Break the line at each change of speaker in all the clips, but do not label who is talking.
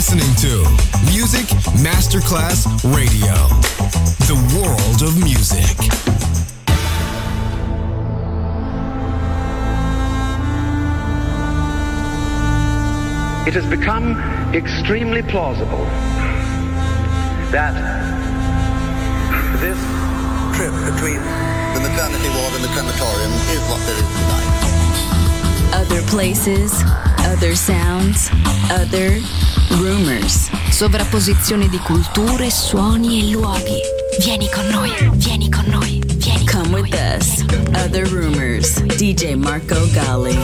listening to Music Masterclass Radio, the world of music.
It has become extremely plausible that this trip between the maternity ward and the crematorium is what there is tonight.
Other places, other sounds, other rumors. Sovrapposizione di culture, suoni e luoghi. Vieni con noi, vieni con noi, vieni con noi. Come with us. Other Rumors. DJ Marco Gally.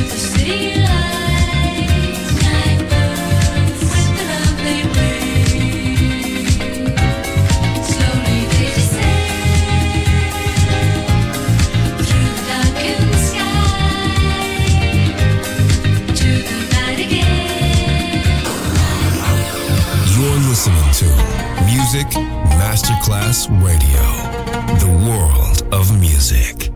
Music Masterclass Radio, the world of music.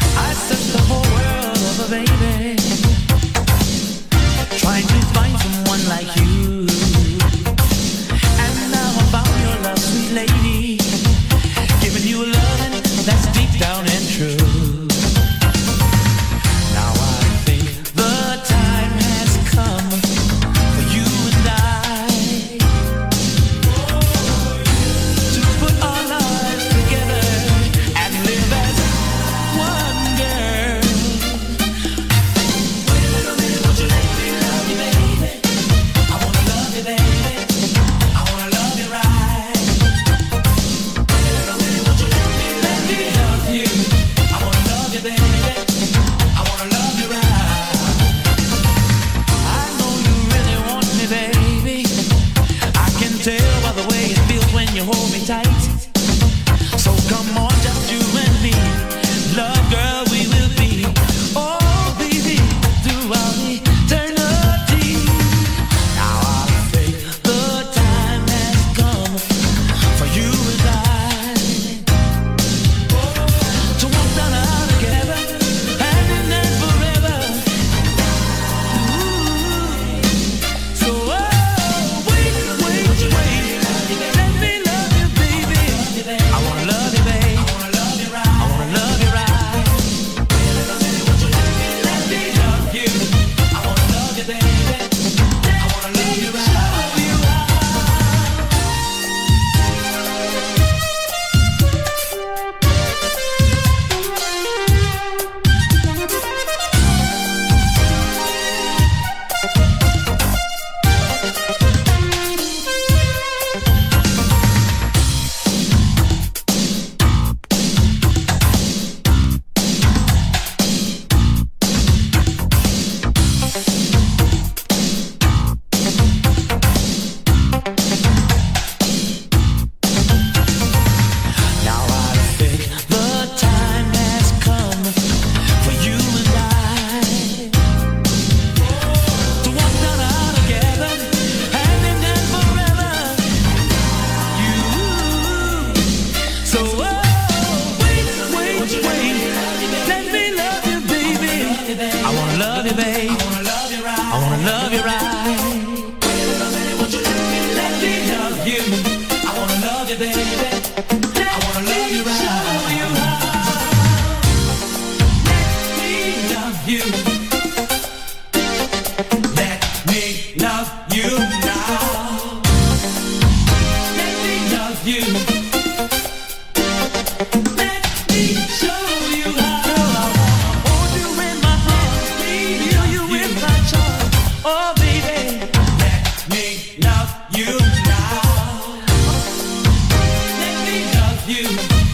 Trying to find someone love you now. Let me love you. Let me show you how. Hold you in my heart, feel you in my charm. Oh baby, let me love you now. Let me love you.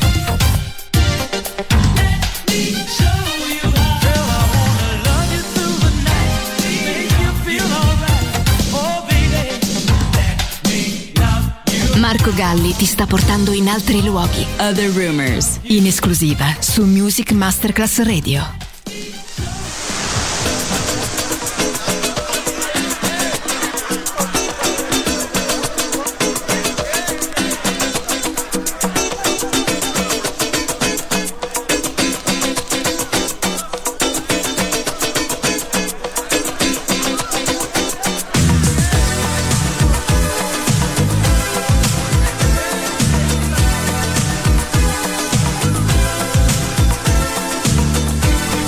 Let me show you how. Girl, I wanna love you through the night, make you feel alright. Oh baby, let me love you.
Marco Galli ti sta portando in altri luoghi. Other Rumors, in esclusiva su Music Masterclass Radio.
Let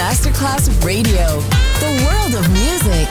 Masterclass Radio, the world of music.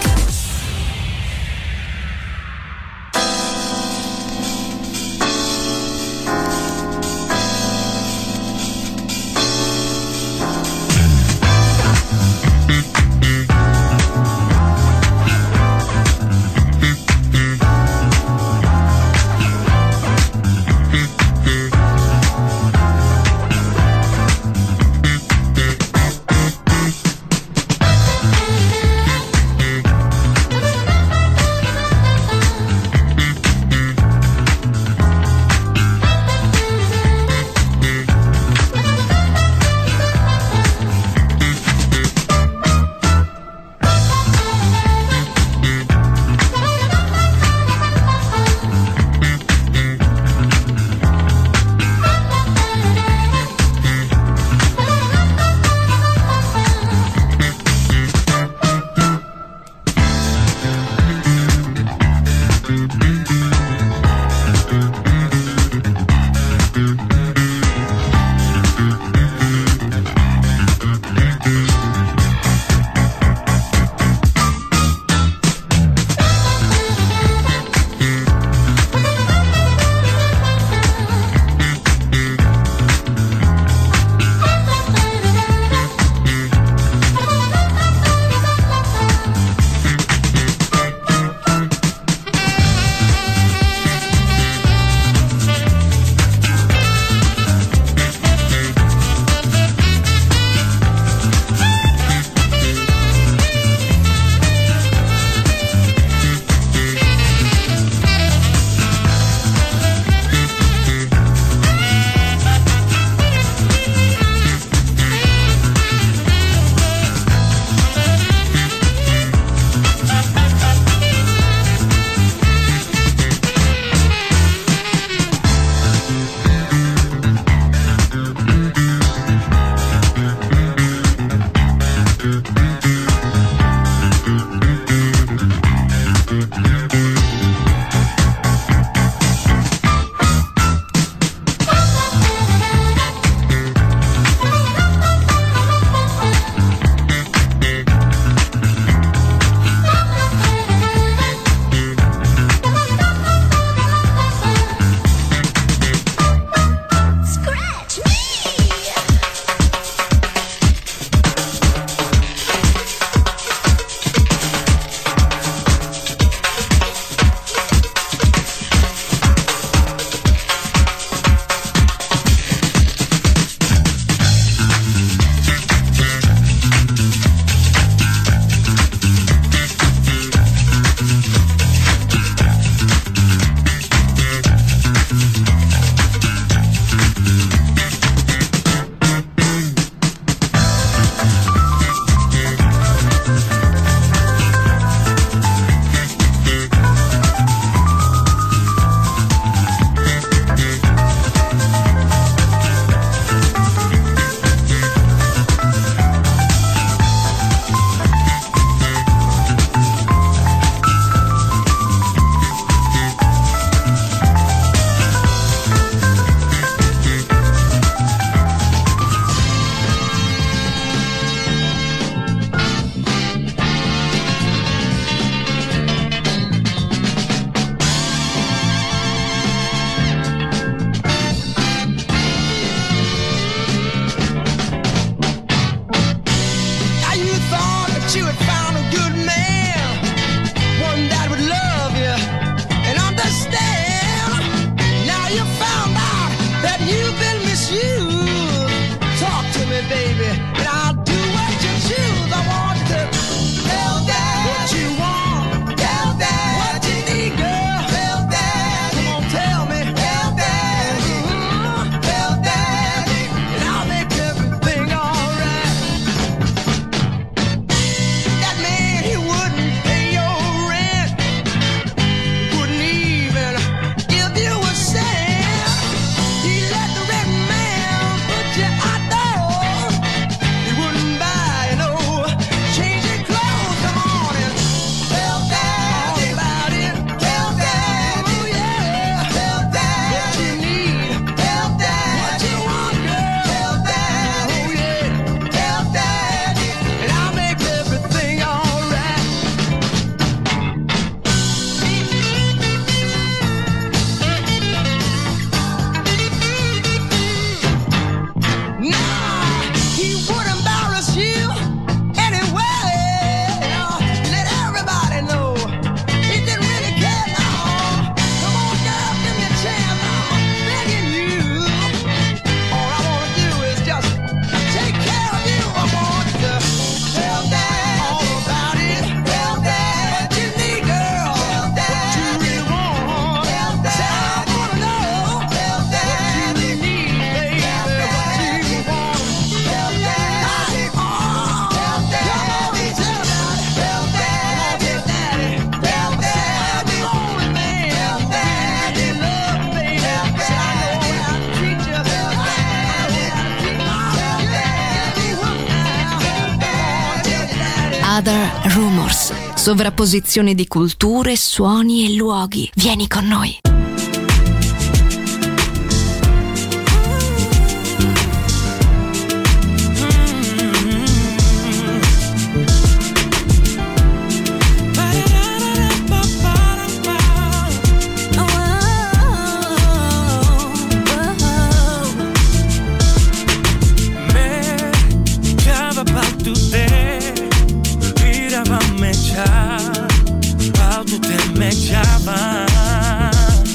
Other Rumors. Sovrapposizione di culture, suoni e luoghi. Vieni con noi.
How to tell me Java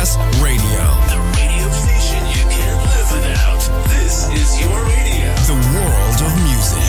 Masterclass Radio.
The radio station you can't live without. This is your radio.
The world of music.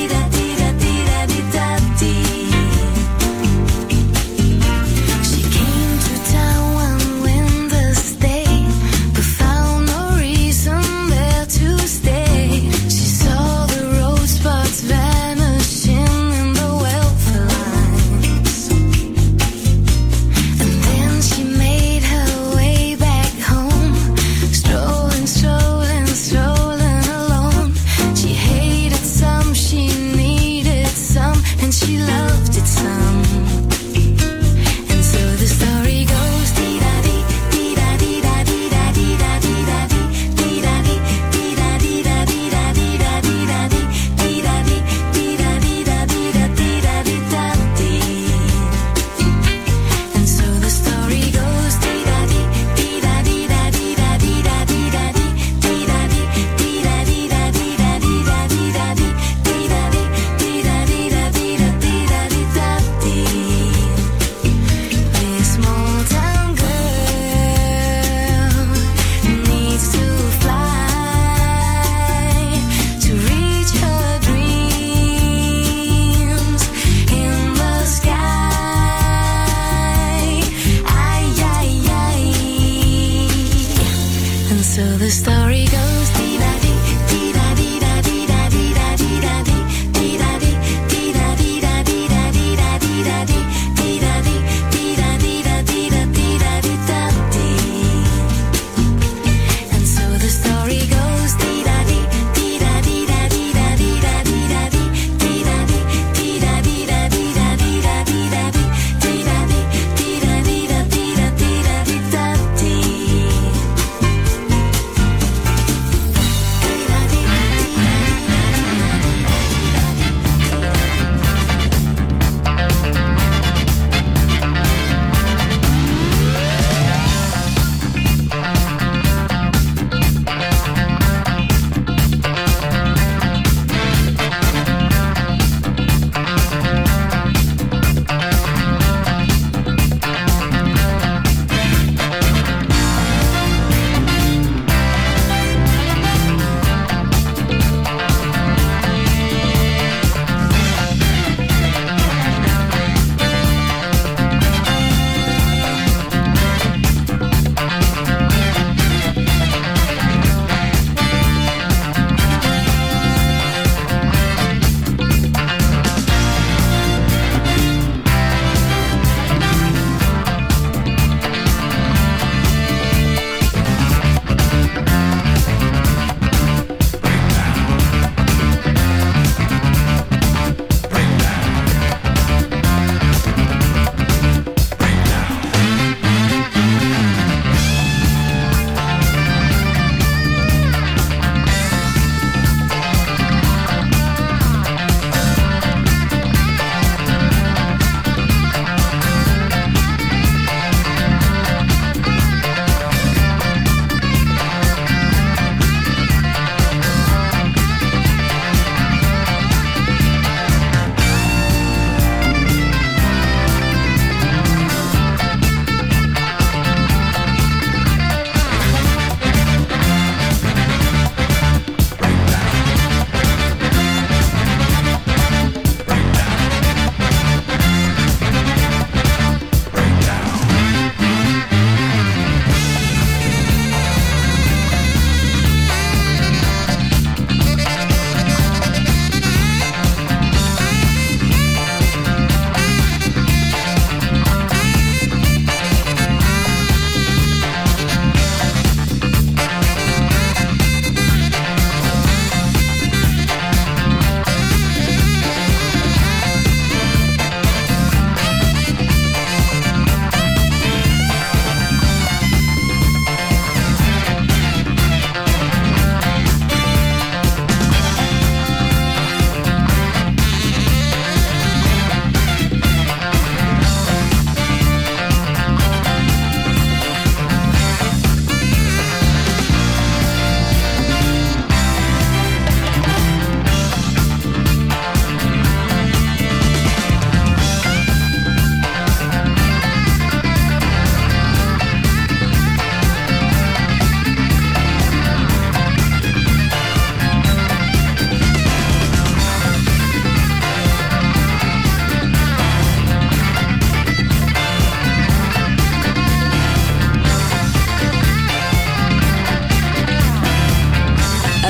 She came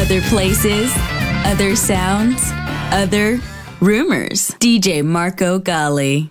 Other places, other sounds, other rumors. DJ Marco Gally.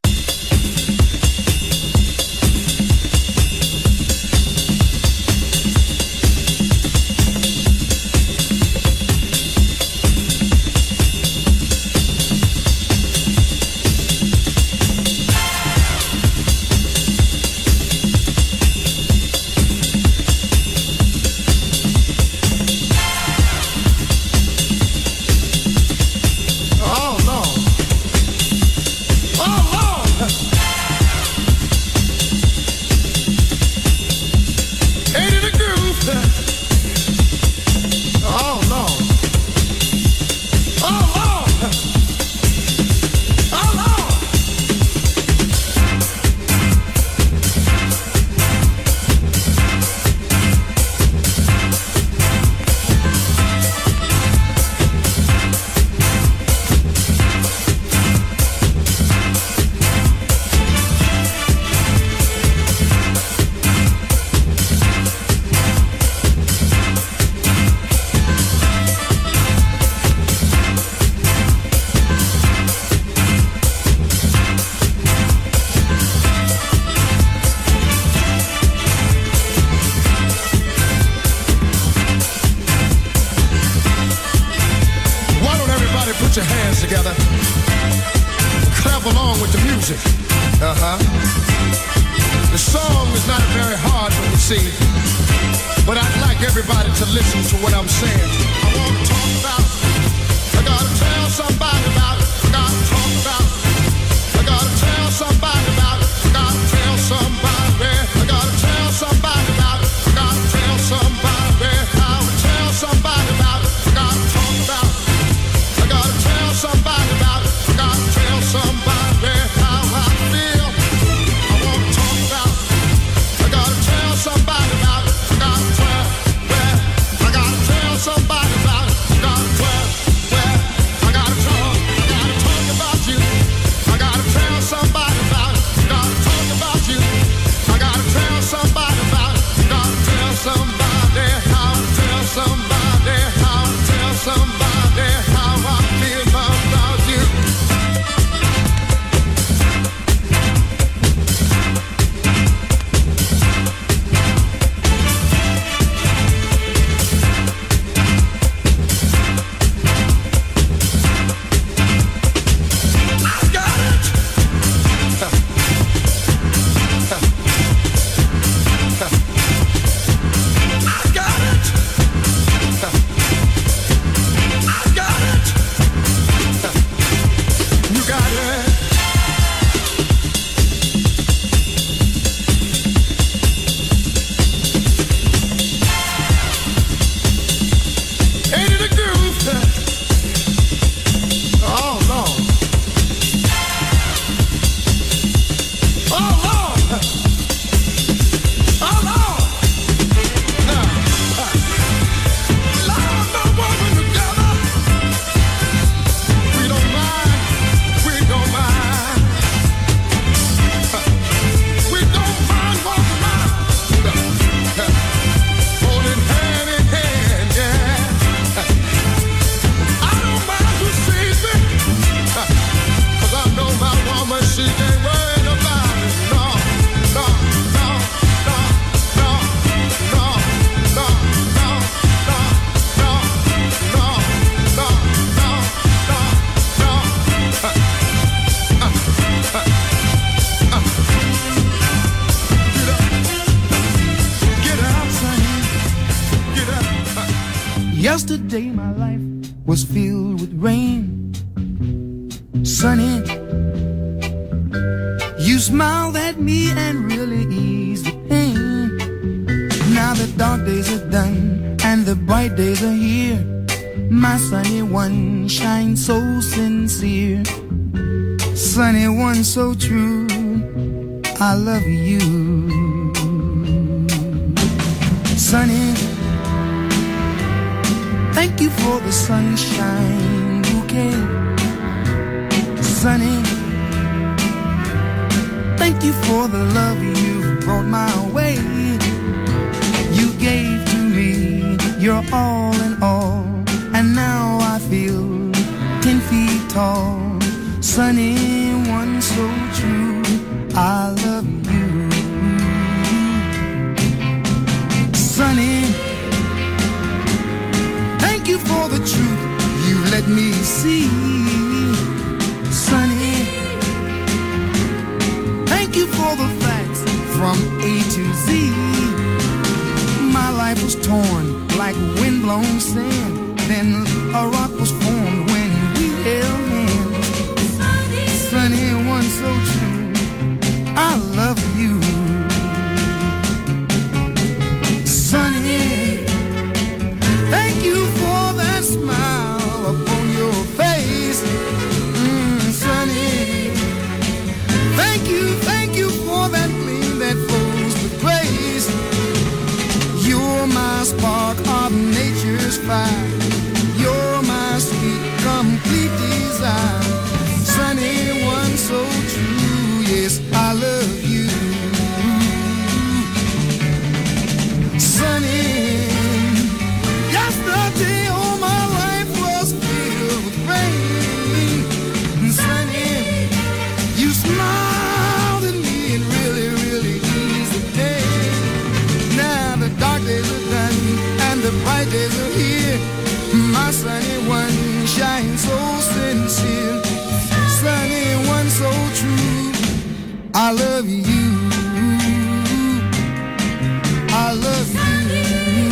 Yesterday my life was filled with rain, sunny. You smiled at me and really eased the pain. Now the dark days are done and the bright days are here. My sunny one shines so sincere, sunny one so true. I love you, sunny. Thank you for the sunshine bouquet, sunny. Thank you for the love you brought my way. You gave to me your all in all. And now I feel 10 feet tall. Sunny one so true, I love you. Sunny, thank you for the truth you let me see. Sunny, thank you for the facts from A to Z. My life was torn like windblown sand. Then a rock was formed when we held hands. Sunny one so true, I love you. Sunny, thank you for that smile upon your face. Sunny, thank you for that gleam that flows with grace. You're my spark of nature's fire. You're my sweet, complete desire. Sunny one so true, yes, I love you. Sunny, yesterday all my life was filled with rain. Sunny, you smiled at me and really, really eased the day. Now the dark days are done and the bright days are here. My sunny one shines so sincere. Sunny one so true, I love you. I love you.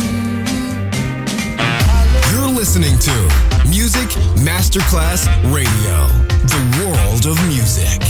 You're listening to Music Masterclass Radio, the world of music.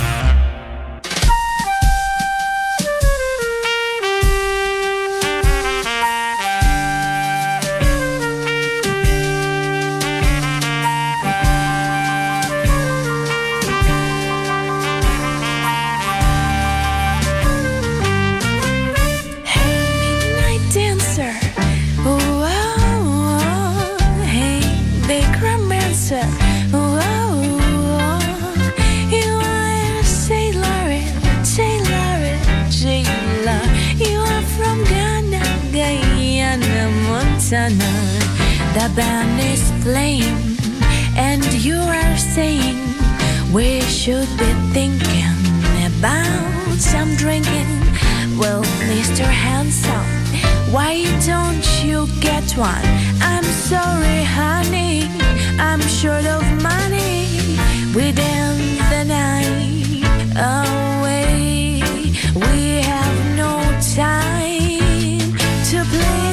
The band is playing and you are saying we should be thinking about some drinking. Well, Mr. Handsome, why don't you get one? I'm sorry, honey, I'm short of money. We dance the night away. We have no time to play.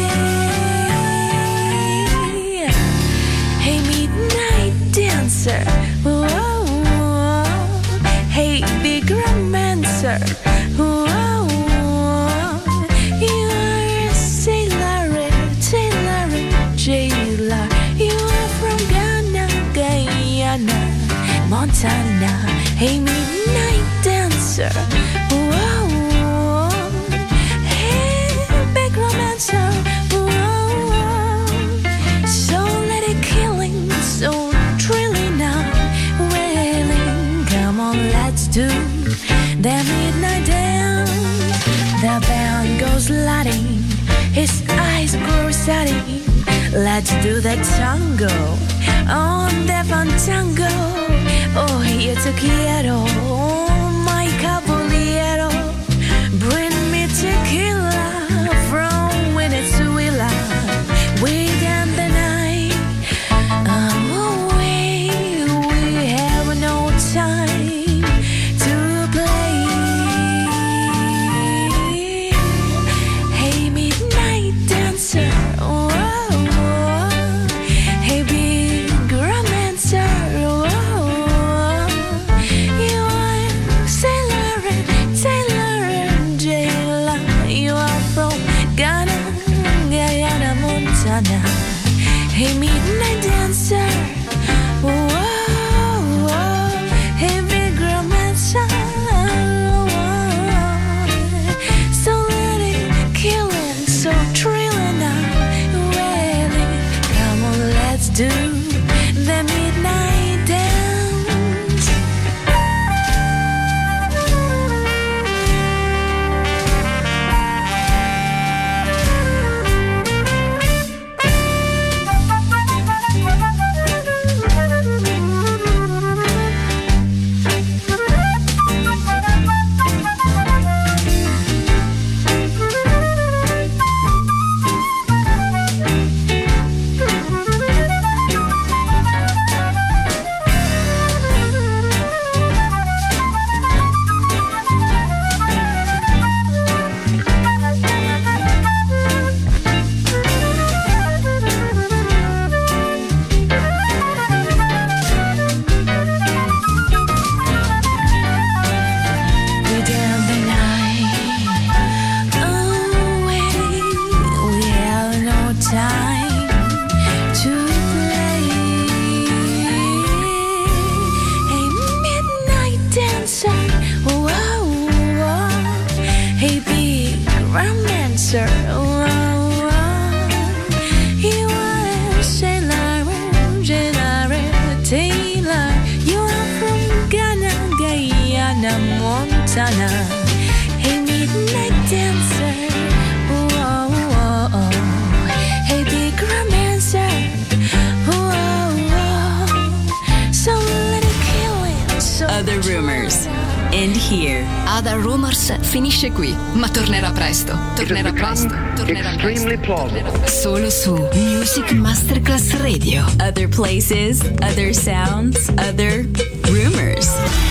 Hey, midnight dancer, whoa, whoa. Hey, big romancer, whoa, whoa. You are a sailor, jailer. You are from Ghana, Guyana, Montana. Hey, midnight dancer, whoa, whoa. Hey, big romancer, so thrilling now, wailing. Come on, let's do the midnight dance. The band goes lighting, his eyes grow steady. Let's do the tango on the fantango. Oh, yo te quiero, my caballero. Bring me tequila from Venezuela. We dance the night away. We have no time to play. Hey, midnight dancer, whoa, whoa. Hey, big romancer, whoa. You are sailor, jailer. You are from Ghana, Guyana, Montana. Hey, midnight dancer, whoa, whoa. Hey, big romancer, whoa. So let it killing, so thrilling now, wailing. Come on, let's do the midnight dance. Hey, big romancer. Oh, you are a sailor, Taylor. You are from Ghana, Guyana, Montana. Hey, midnight dancer. Hey, big romancer. So let it kill it. So
Other Rumors. And here. Other Rumors finisce qui, ma tornerà presto. Tornerà presto. Solo su Music Masterclass Radio. Other places, other sounds, other rumors.